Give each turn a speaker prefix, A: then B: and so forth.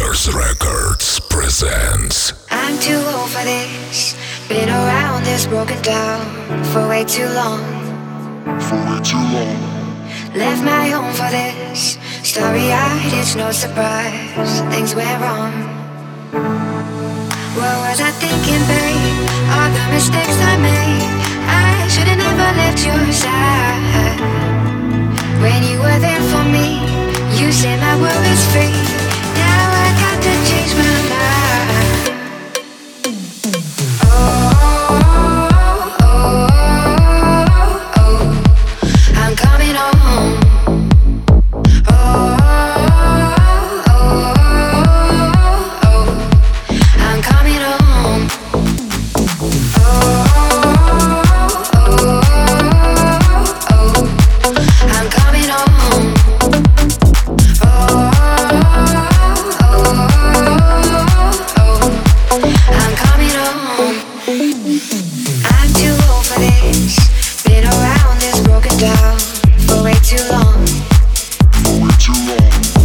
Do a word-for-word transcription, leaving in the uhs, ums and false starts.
A: Mars Records presents.
B: I'm too old for this. Been around this broken down for way too long.
A: For way too long.
B: Left my home for this. Starry-eyed, it's no surprise. Things went wrong. What was I thinking, babe? All the mistakes I made. I should've never left your side. When you were there for me, you said my world is free. Now I got to change my mind. Oh, oh, oh, oh, I'm coming home. Oh, oh, oh, I'm coming home. Oh, oh, oh, I'm coming home. I'm coming home. I'm too old for this. Been around this broken down for way too long.
A: For way too long.